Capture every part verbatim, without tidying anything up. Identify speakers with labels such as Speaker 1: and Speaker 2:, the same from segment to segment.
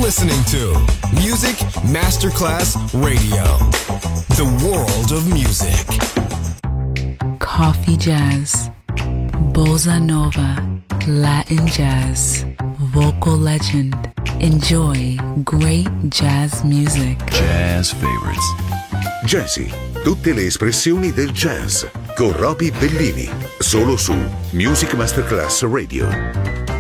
Speaker 1: listening to Music Masterclass Radio, the world of music.
Speaker 2: Coffee jazz, bossa nova, Latin jazz, vocal legend. Enjoy great jazz music.
Speaker 3: Jazz favorites.
Speaker 4: Jazzy, tutte le espressioni del jazz con Roby Bellini, solo su Music Masterclass Radio.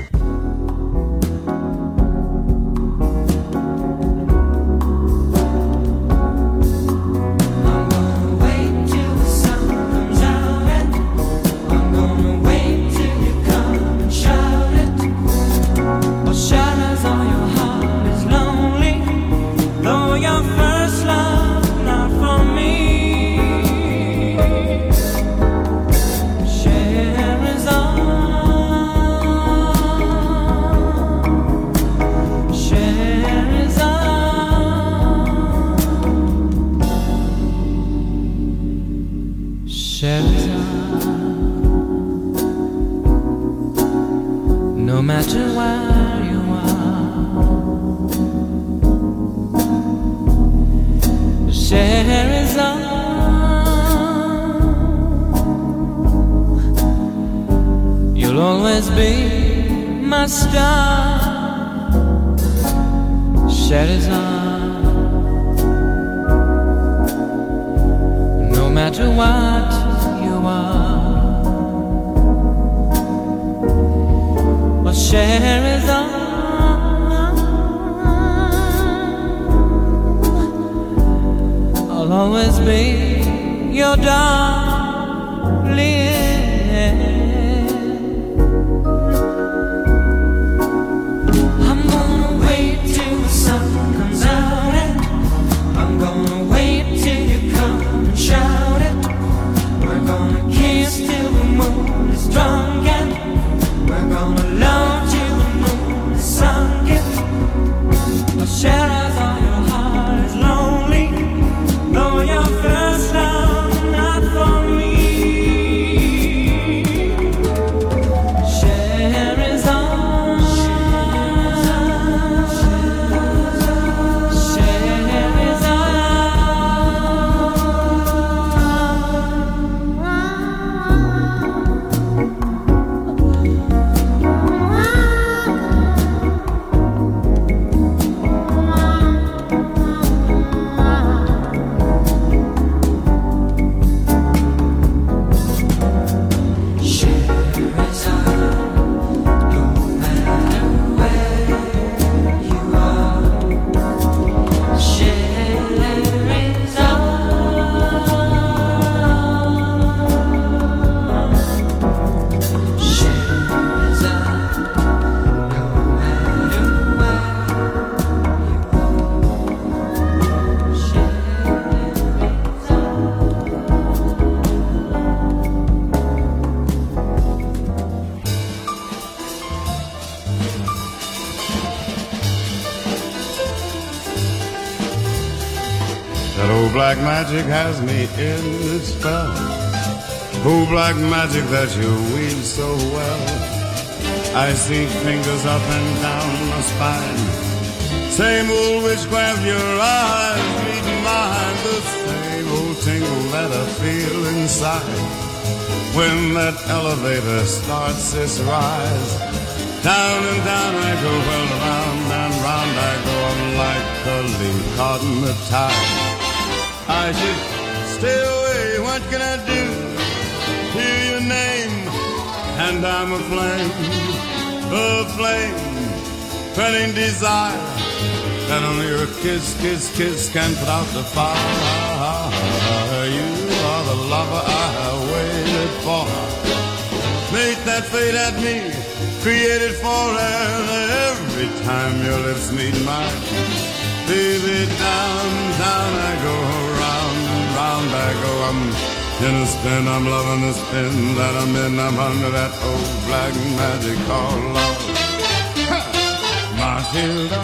Speaker 5: Black magic has me in its spell. Oh, black magic that you weave so well. I see fingers up and down my spine. Same old witchcraft, your eyes meet mine. The same old tingle that I feel inside when that elevator starts its rise. Down and down I go, well, round and round I go. I'm like a leaf caught in the tide. I should stay away, what can I do? Hear your name, and I'm a flame, a flame, burning desire, that only your kiss, kiss, kiss can put out the fire. You are the lover I waited for. Make that fate at me, created for, and every time your lips meet mine, baby, down, down I go, round and round I go. I'm in a spin, I'm loving the spin that I'm in. I'm under that old black magic called love. Ha! Matilda,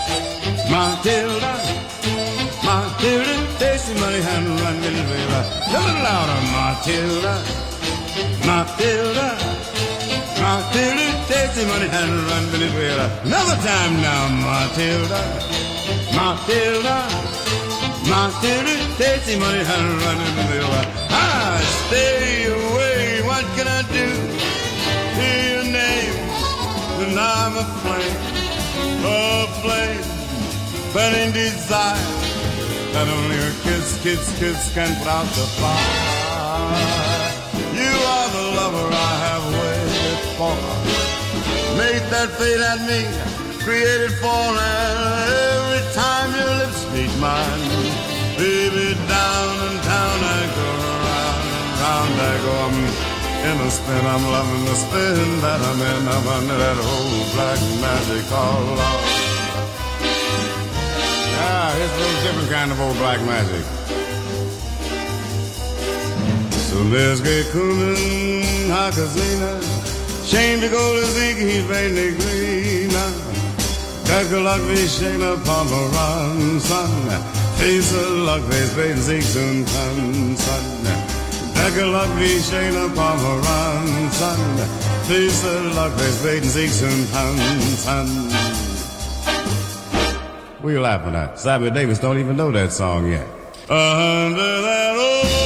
Speaker 5: Matilda, Matilda, take some money and run, little baby. A little louder, Matilda, Matilda, Matilda. tasty money and run Venezuela. Another time now, Matilda, Matilda, Matilda, tasty money and run Venezuela. I stay away, what can I do? Hear your name, and I'm a flame, a flame, burning desire, that only a kiss, kiss, kiss can put out the fire. You are the lover I have waited for, made that fate at me, created for, and every time your lips meet mine, baby, down and down I go, round and round I go. I'm in a spin, I'm loving the spin that I'm in. I'm under that old black magic called love. Ah, it's a little different kind of old black magic. So there's great Kuman, Hakazina, shame to go to Ziggy, Vene Grina, Kakalak, Vishena, Pomeran, son, Face of luck, Face, Baden, Zig, Soon, Tan, son, Kakalak, Vishena, Pomeran, son, Face of luck, Face, Baden, Zig, Soon, Tan, son. What are you laughing at? Sammy Davis don't even know that song yet. Under that old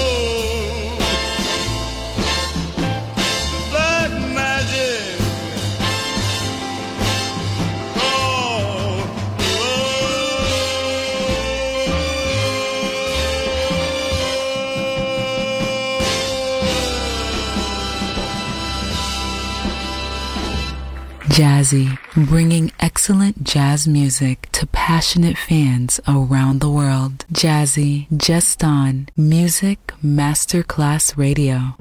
Speaker 2: Jazzy, bringing excellent jazz music to passionate fans around the world. Jazzy, just on Music Masterclass Radio.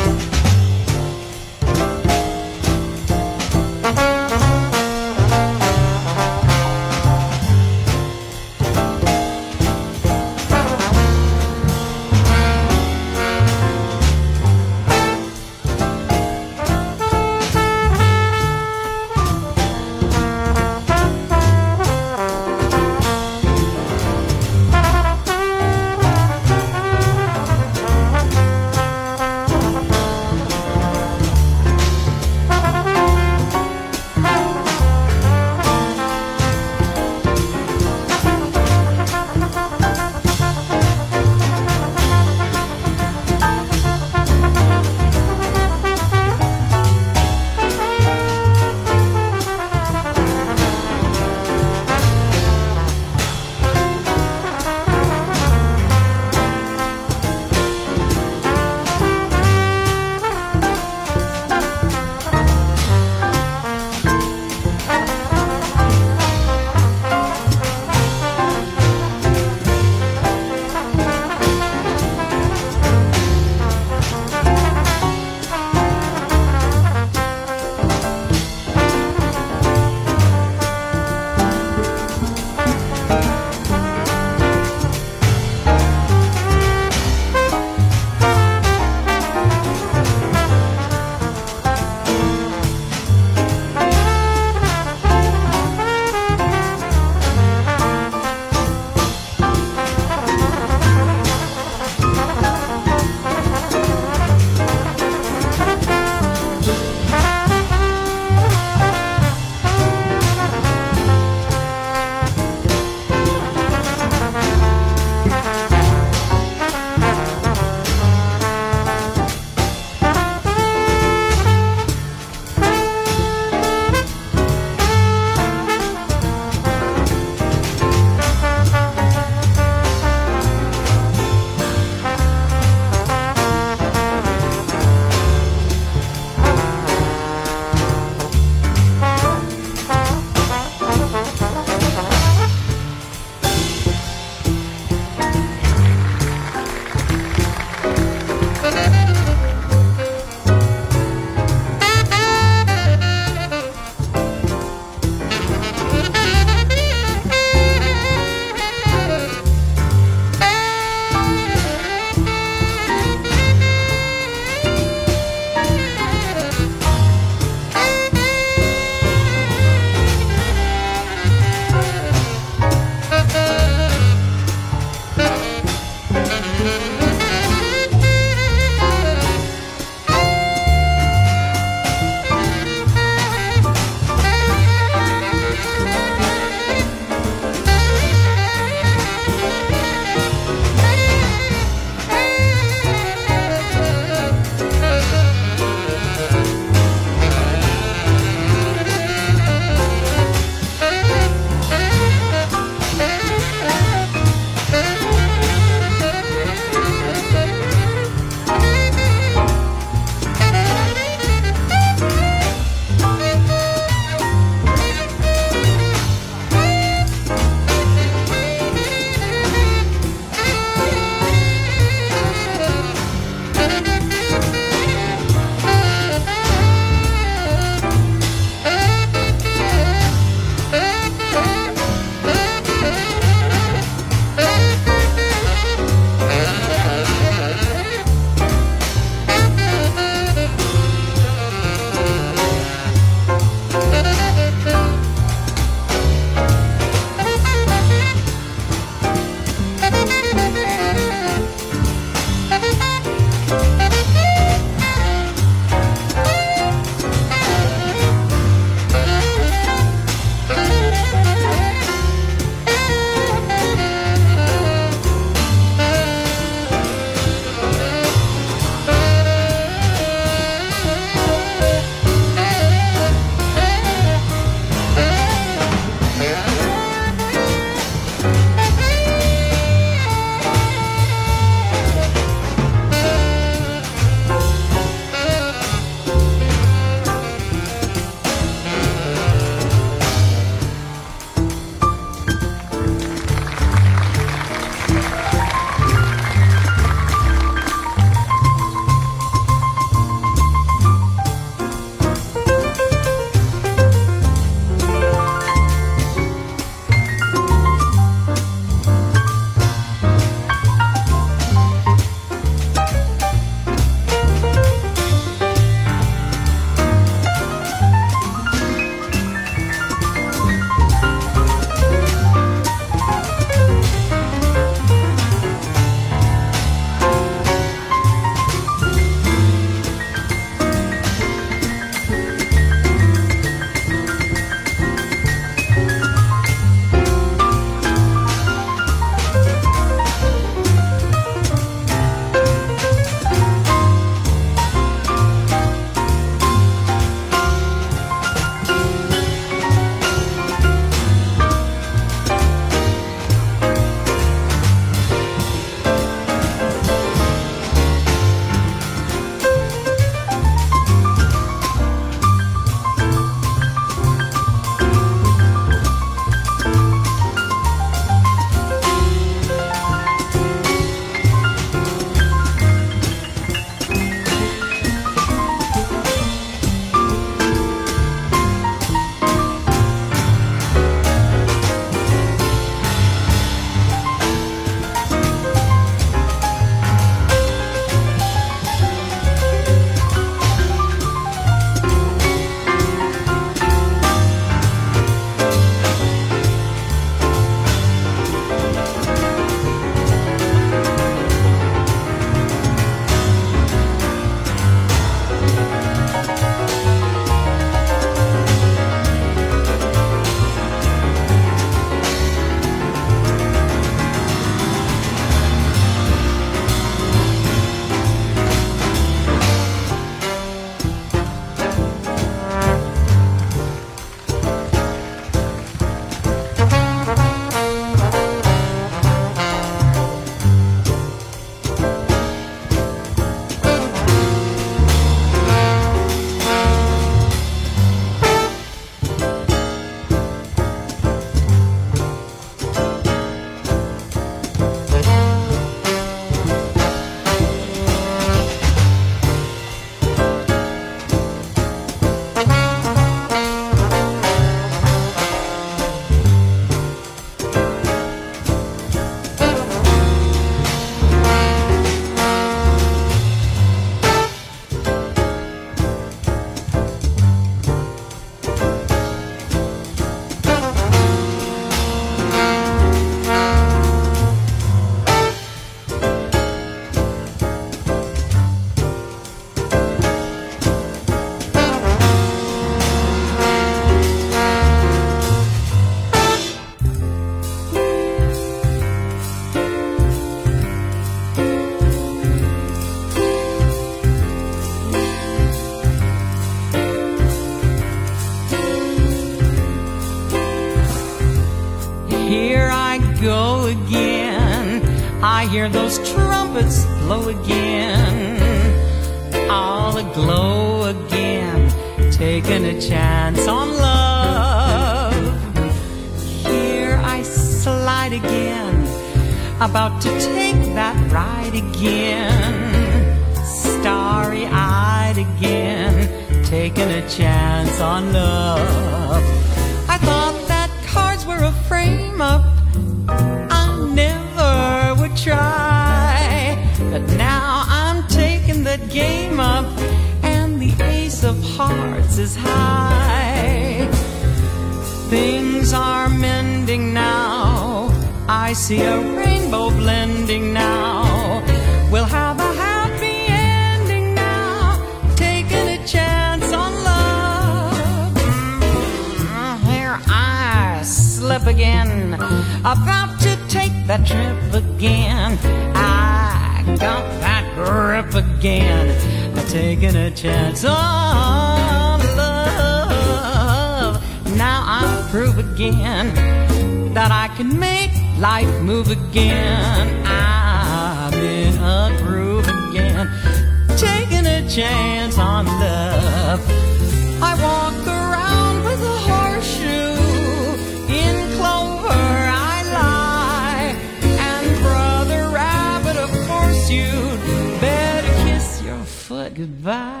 Speaker 3: go again. I hear those trumpets blow again, all aglow again, taking a chance on love. Here I slide again, about to take that ride again, starry-eyed again, taking a chance on love. I thought that cards were a frame-up, I never would try, but now I'm taking that game up, and the ace of hearts is high. Things are mending now, I see a rainbow blending now. We'll have a happy ending now, taking a chance on love. Here I slip again, about to take that trip again. I got that grip again, taking a chance on love. Now I'll prove again that I can make life move again. I'm in a groove again, taking a chance on love. I walk around with a horseshoe, in clover I lie, and Brother Rabbit, of course you'd better kiss your foot goodbye.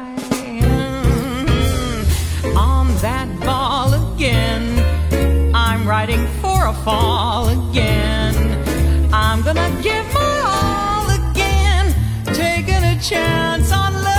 Speaker 3: On that ball again, I'm riding for a fall again. I'm gonna give my all again, taking a chance on love.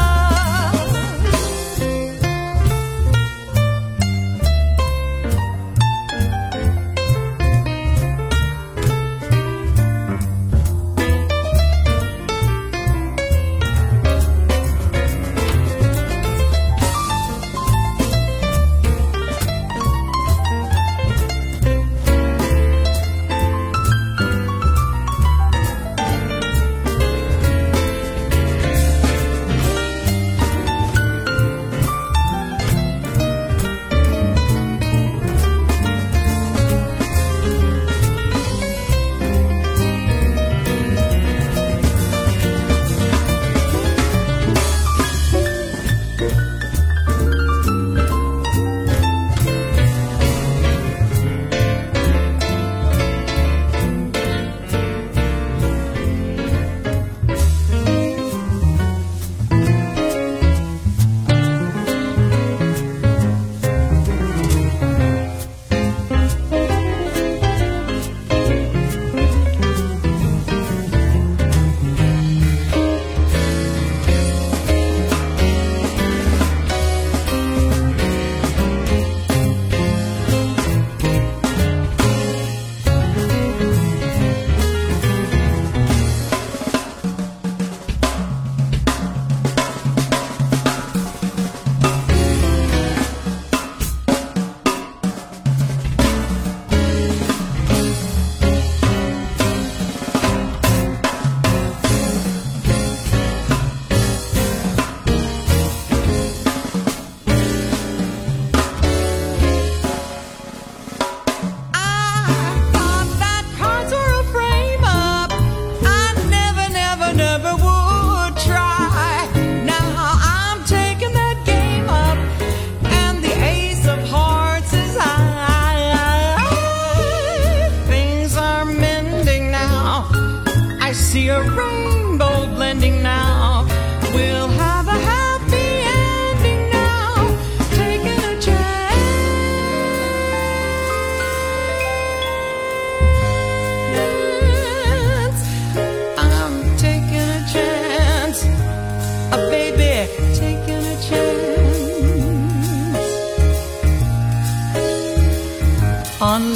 Speaker 3: On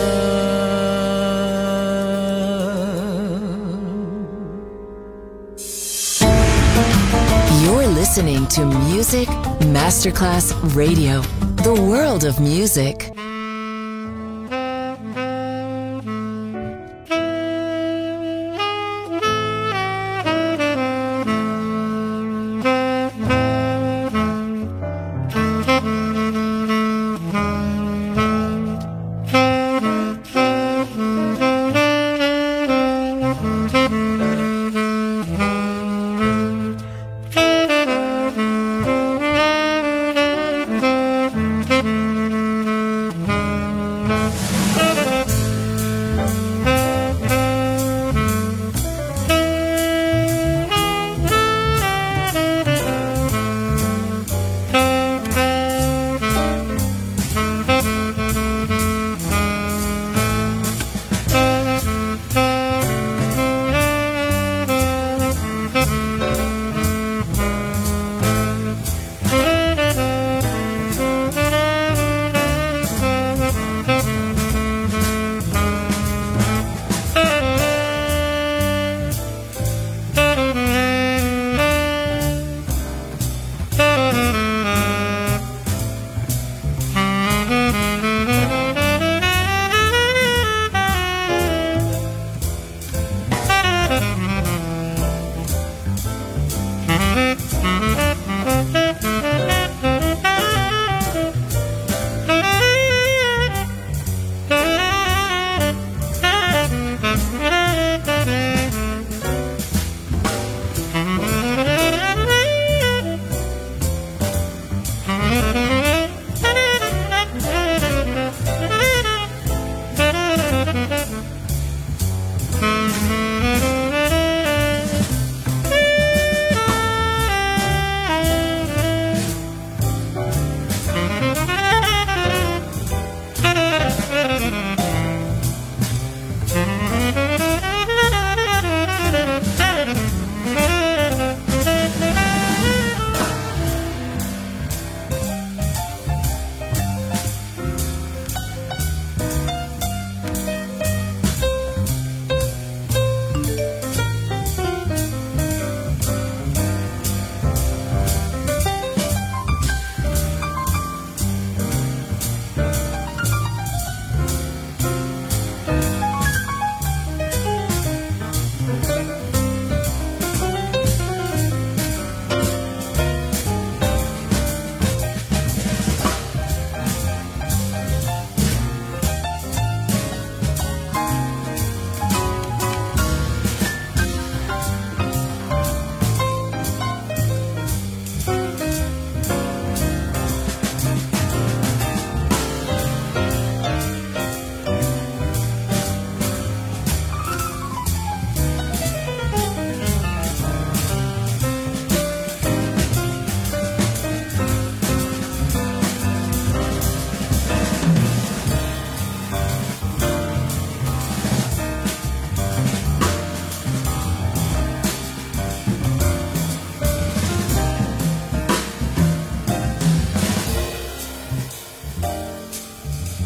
Speaker 3: love.
Speaker 6: You're listening to Music Masterclass Radio, the world of music.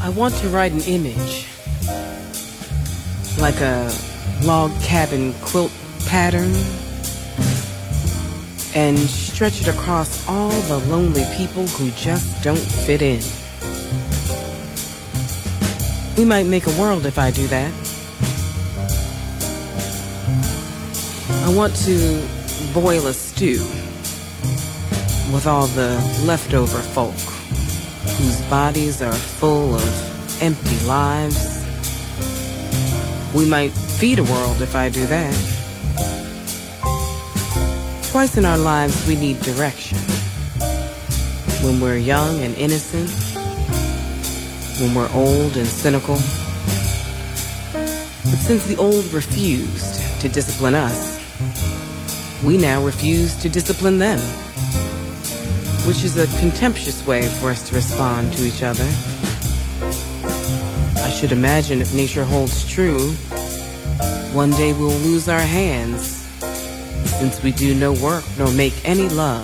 Speaker 7: I want to write an image, like a log cabin quilt pattern, and stretch it across all the lonely people who just don't fit in. We might make a world if I do that. I want to boil a stew with all the leftover folk whose bodies are full of empty lives. We might feed a world if I do that. Twice in our lives we need direction. When we're young and innocent, when we're old and cynical. But since the old refused to discipline us, we now refuse to discipline them, which is a contemptuous way for us to respond to each other. I should imagine if nature holds true, one day we'll lose our hands, since we do no work nor make any love.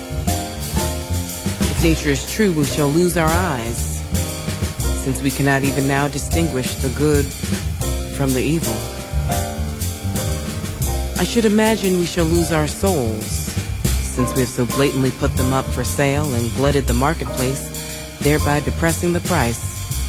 Speaker 7: If nature is true, we shall lose our eyes, since we cannot even now distinguish the good from the evil. I should imagine we shall lose our souls, since we have so blatantly put them up for sale and glutted the marketplace, thereby depressing the price.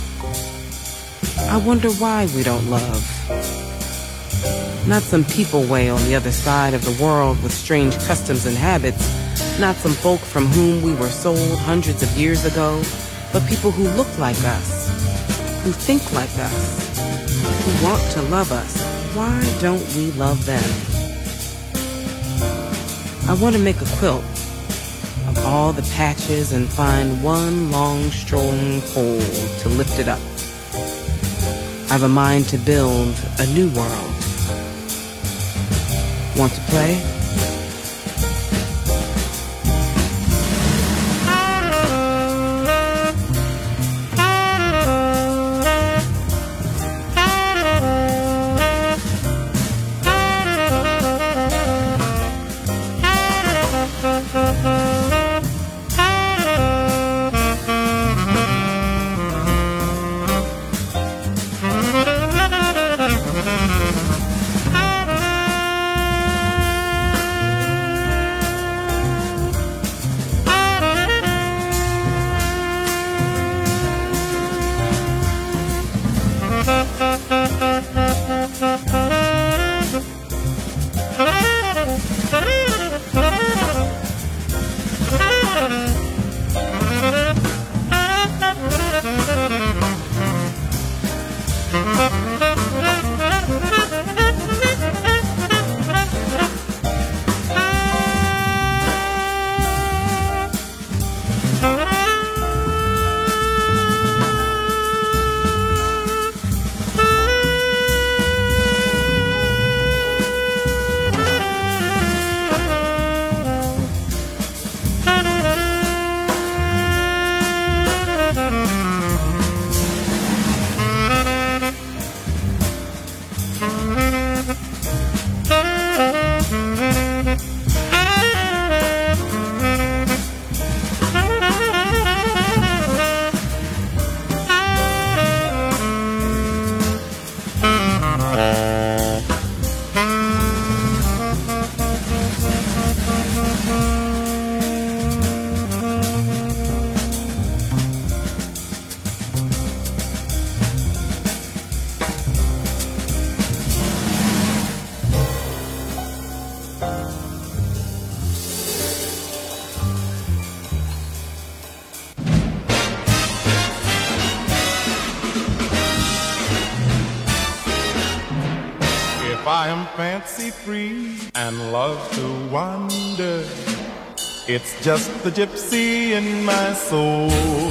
Speaker 7: I wonder why we don't love. Not some people way on the other side of the world with strange customs and habits, not some folk from whom we were sold hundreds of years ago, but people who look like us, who think like us, who want to love us. Why don't we love them? I want to make a quilt of all the patches and find one long, strong pole to lift it up. I have a mind to build a new world. Want to play?
Speaker 8: I am fancy free and love to wander. It's just the gypsy in my soul.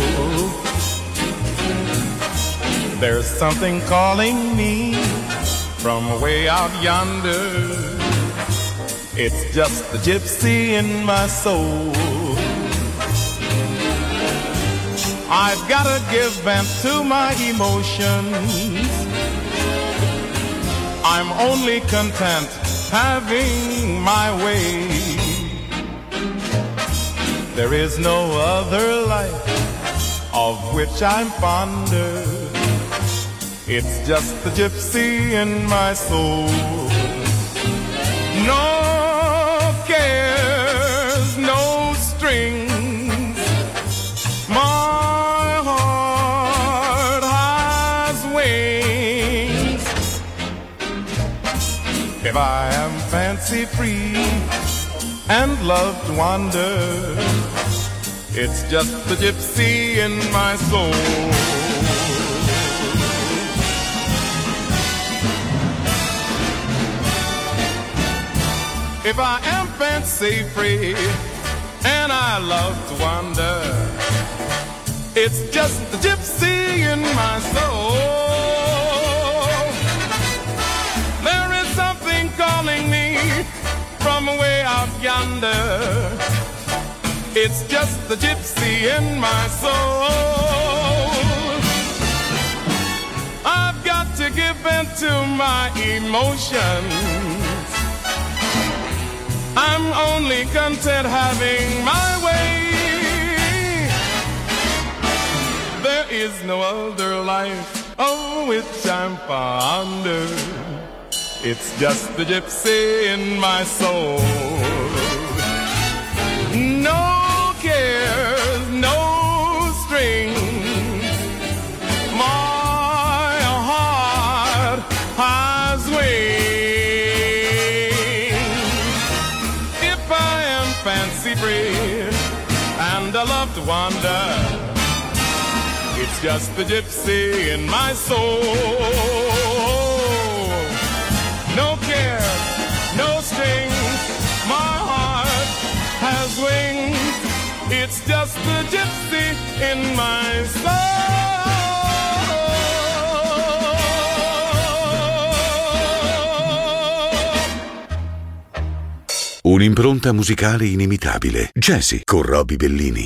Speaker 8: There's something calling me from way out yonder. It's just the gypsy in my soul. I've gotta give vent to my emotions. I'm only content having my way. There is no other life of which which I'm fonder. It's just the gypsy in my soul. No cares, no strings. My heart has wings. If I am fancy free and love to wander, it's just the gypsy in my soul. If I am fancy free and I love to wander, it's just the gypsy in my soul. There is something calling me from way out yonder. It's just the gypsy in my soul. I've got to give in to my emotions. I'm only content having my way. There is no other life of which I'm fonder. It's just the gypsy in my soul. No cares, no strings. My heart has wings. Fancy free and I love to wander, it's just the gypsy in my soul. No care, no strings, my heart has wings. It's just the gypsy in my soul.
Speaker 4: Un'impronta musicale inimitabile. Jazzy con Roby Bellini.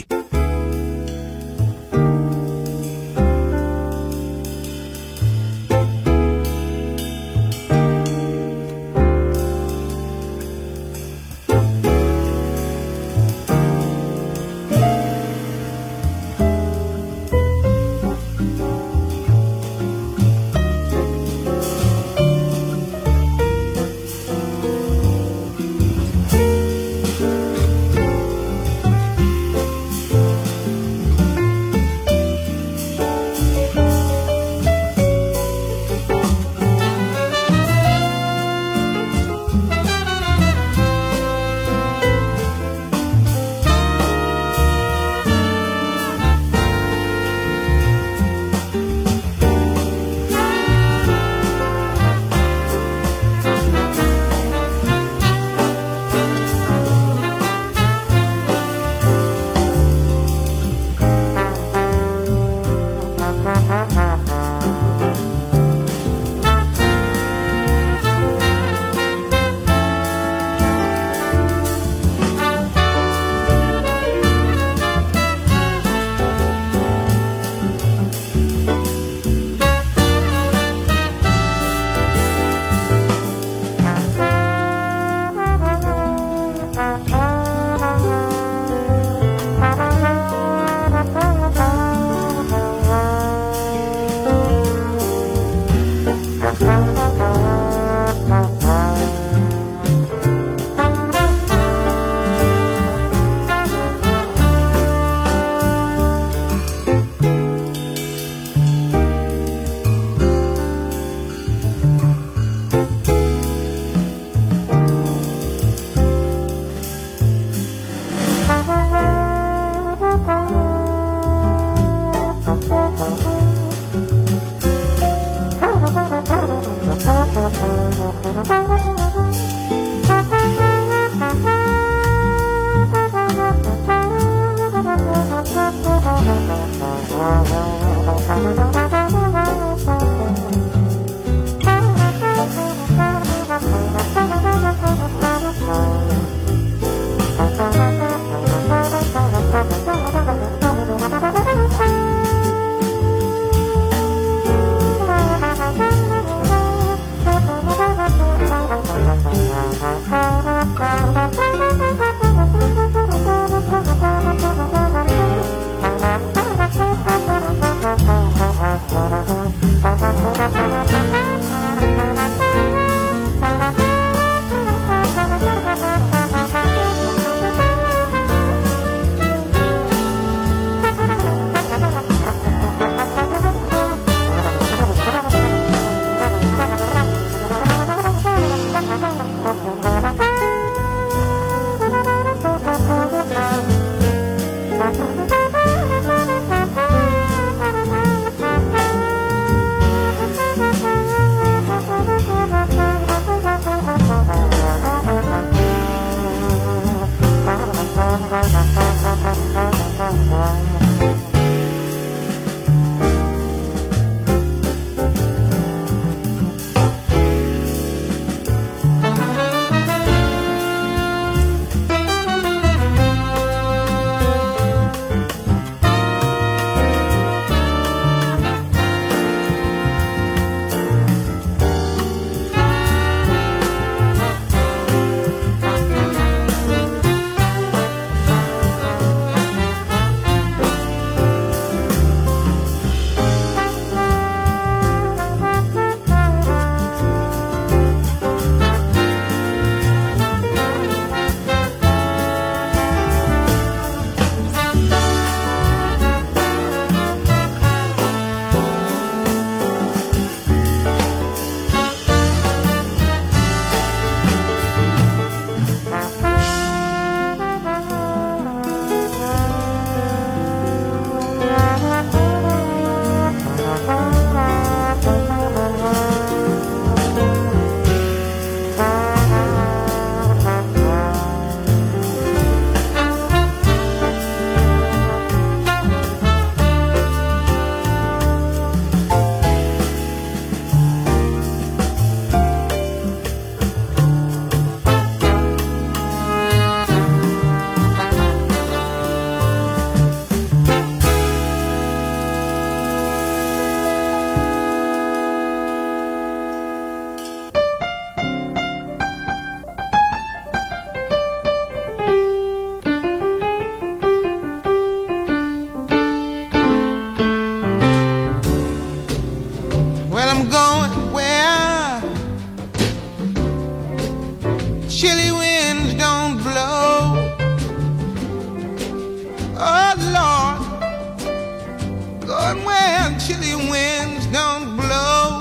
Speaker 9: going where chilly winds don't blow.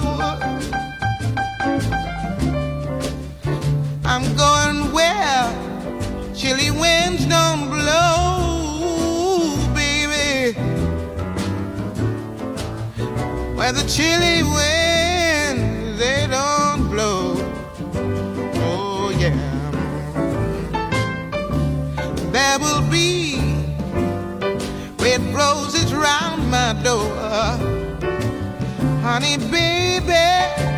Speaker 9: I'm going where chilly winds don't blow, baby. Where the chilly winds, they don't blow. Oh yeah. There will be red roses round my door, honey baby.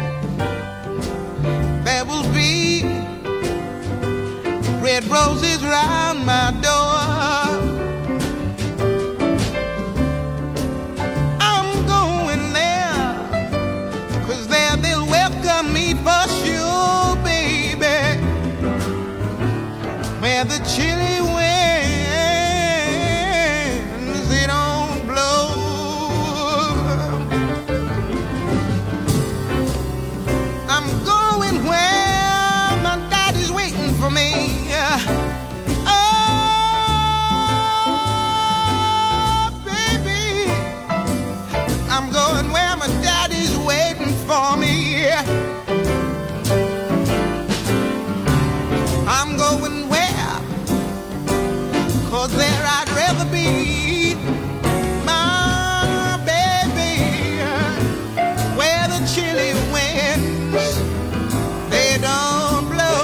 Speaker 9: There will be red roses round my door. I'm going there, 'cause there they'll welcome me for sure, baby. Where the chilly winds, they don't blow. I'm going where my daddy's waiting for me. Oh, baby, I'm going where my daddy's waiting for me. I'm going where, 'cause there I'd rather be, my baby. Where the chilly winds, they don't blow.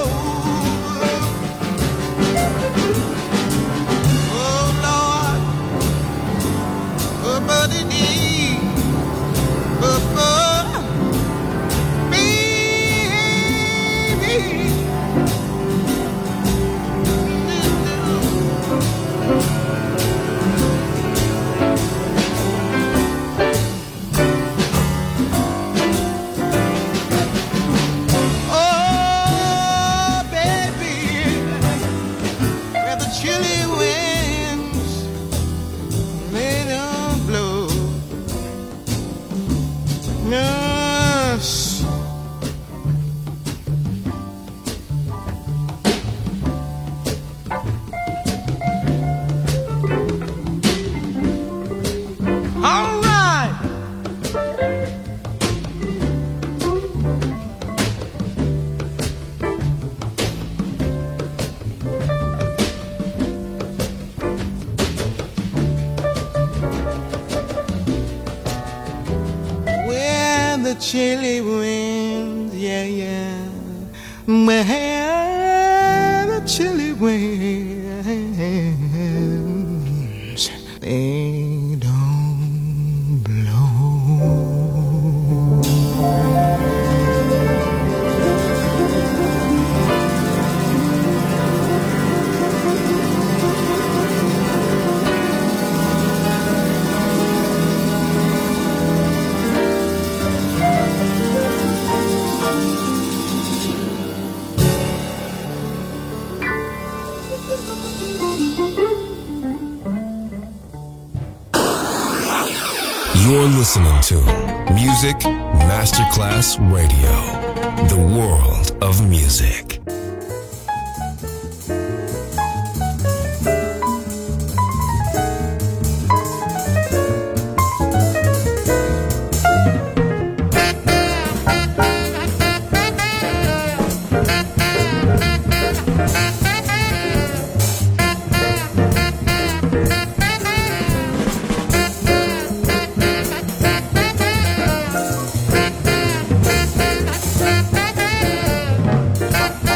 Speaker 9: Oh Lord, oh buddy dee, oh oh, baby. Oh baby, where the chilly winds, they don't blow. Yes. All right. Where the chilly winds, yeah, yeah. Where the chilly winds, they don't blow.
Speaker 1: You're listening to Music Masterclass Radio, the world of music.
Speaker 9: Bye.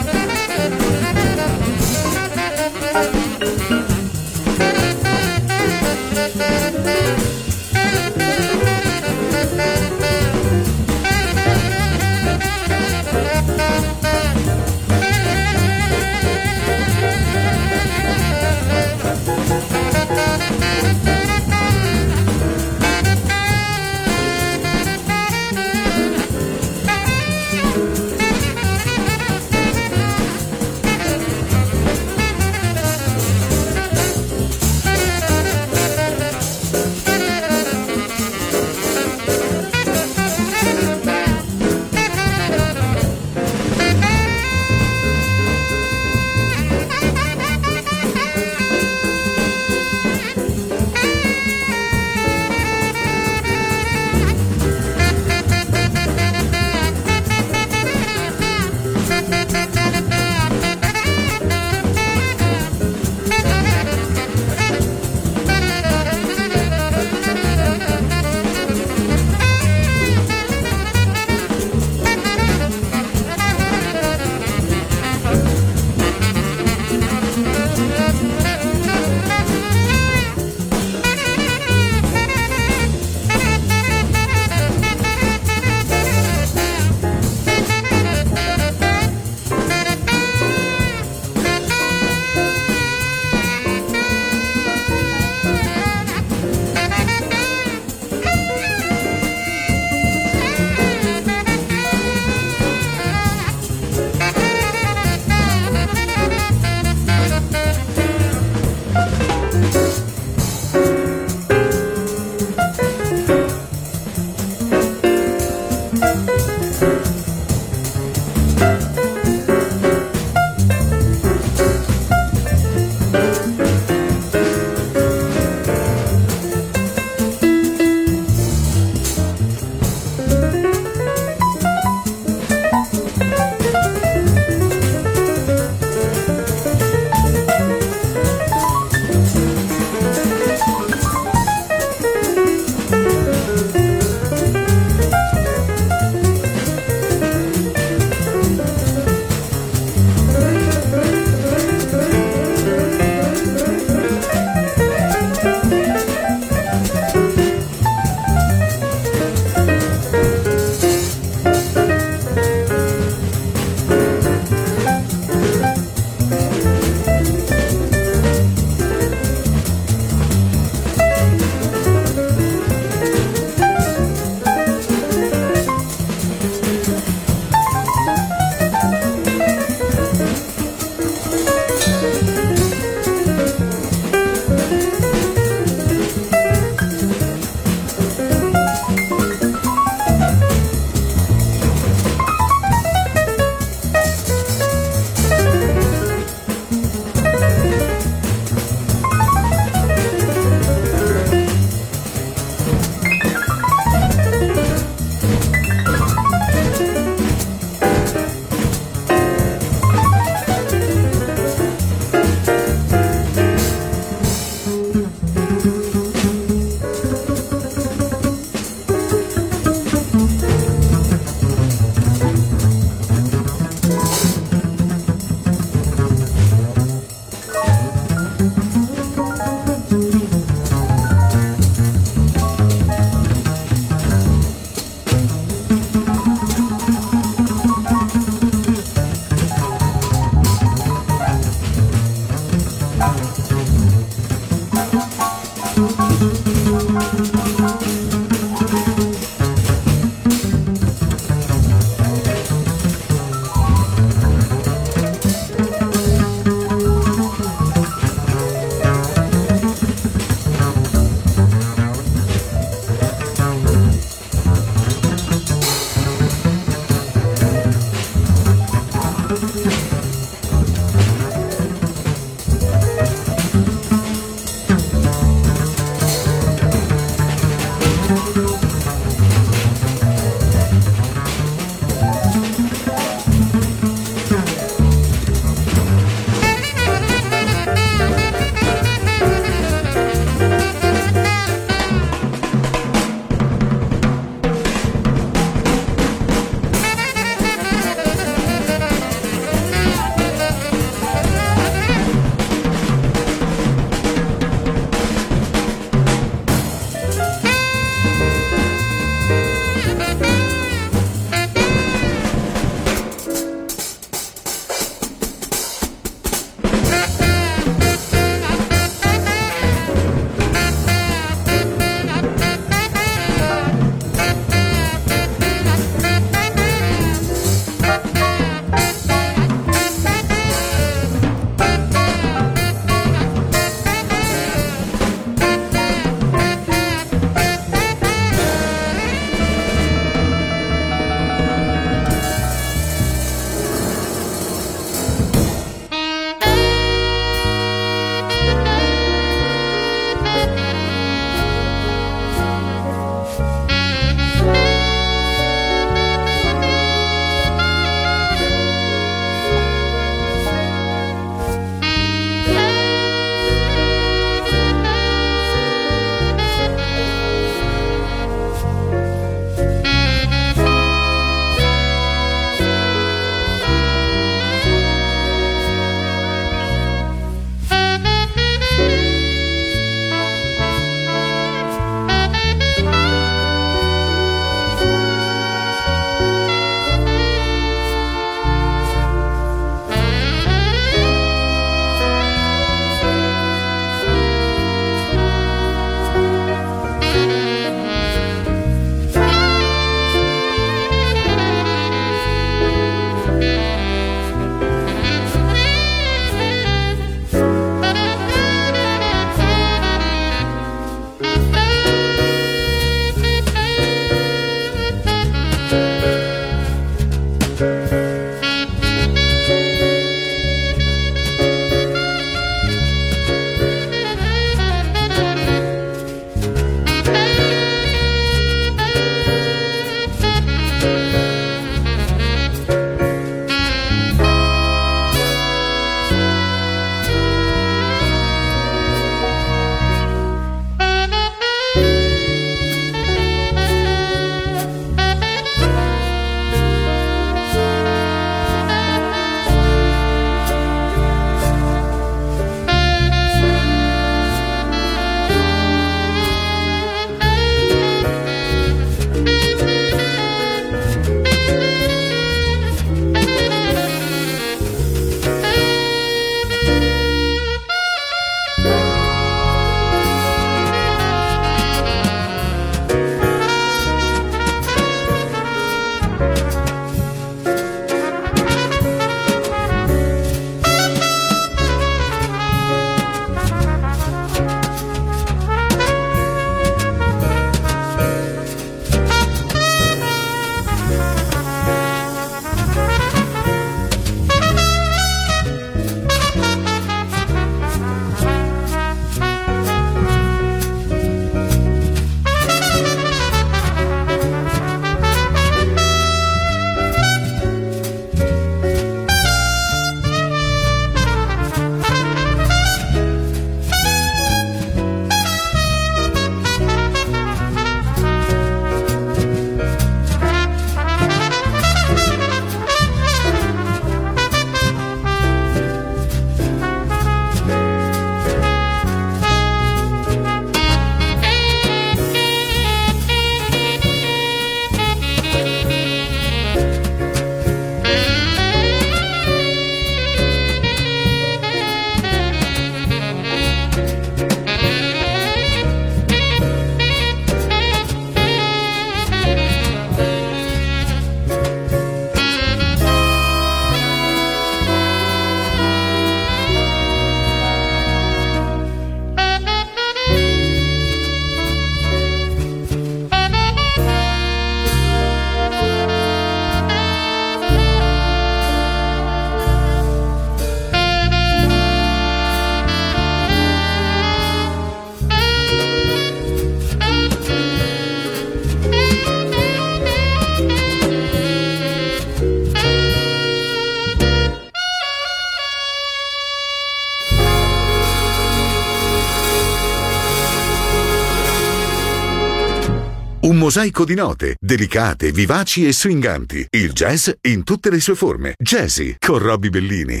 Speaker 4: Un mosaico di note, delicate, vivaci e swinganti. Il jazz in tutte le sue forme. Jazzy con Robbie Bellini.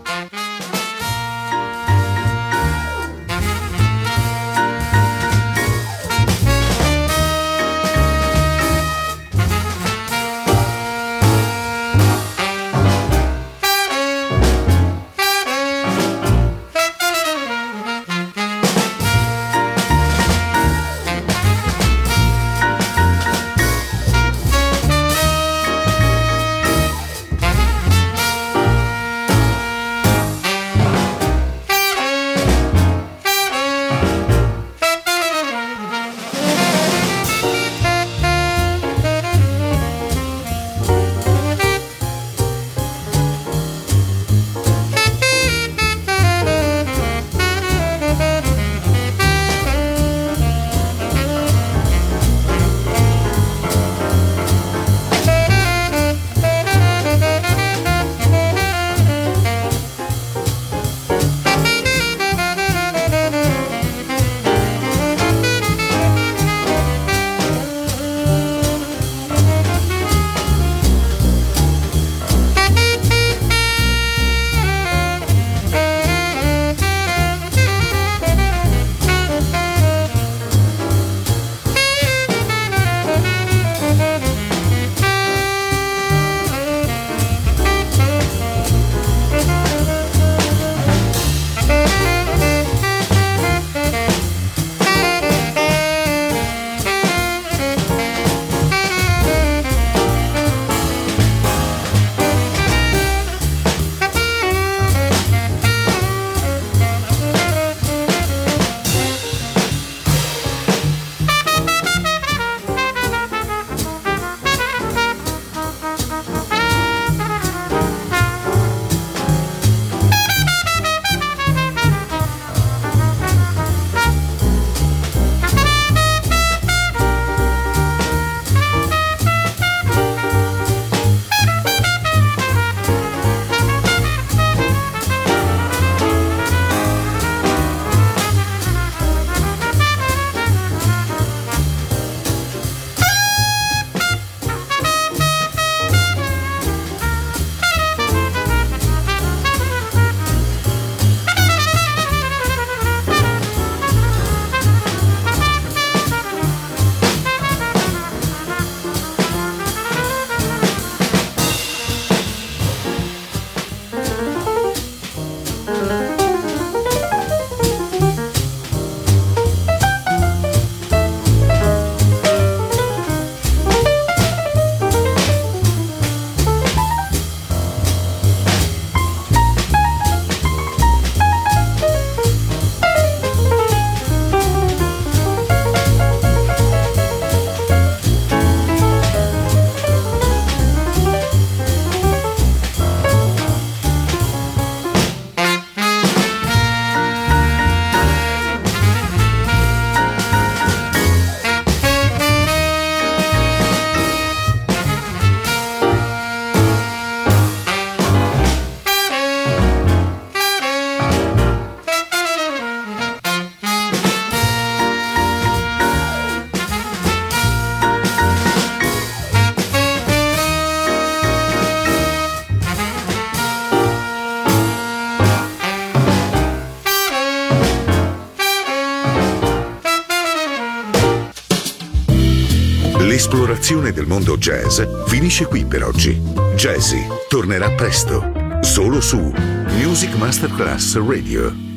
Speaker 4: L'esplorazione del mondo jazz finisce qui per oggi. Jazzy tornerà presto, solo su Music Masterclass Radio.